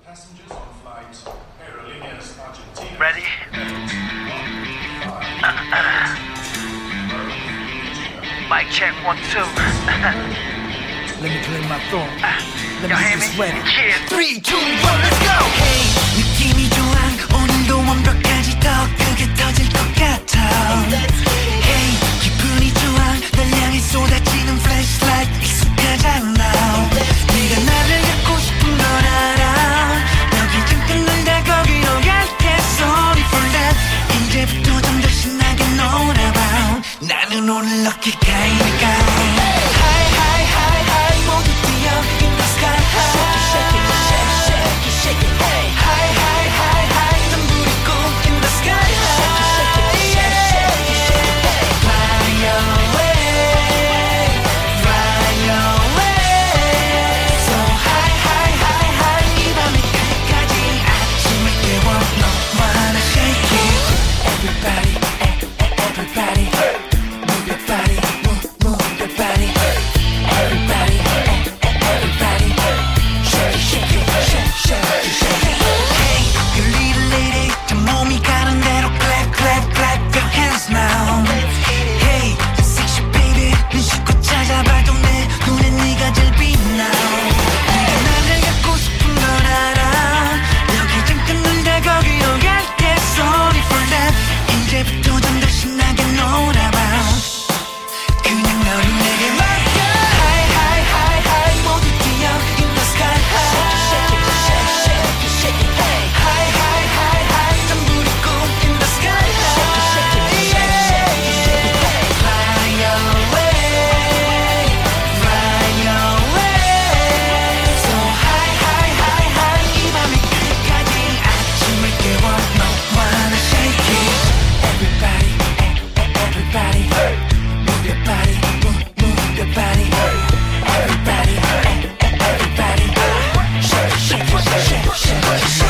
Ready? Mic check 1, 2. Let me clear my throat. Let Y'all me hear get me? this ready. Yeah. 3, 2, 1, let's go. Hey, 느낌이 좋아. 오늘도 완벽까지 더 크게 터질 것 같아. Hey, 기분이 좋아. 날 향해 쏟아지는 flashlight 익숙하잖아. 네가 나를 갖고 싶은 걸 알아. 여기 잠깐 놀다 거기로 갈게. Sorry for that. 이제부터 좀 더 신나게 놀아봐. 나는 오늘 럭키 가이니까. Everybody, shake it, shake it, shake it.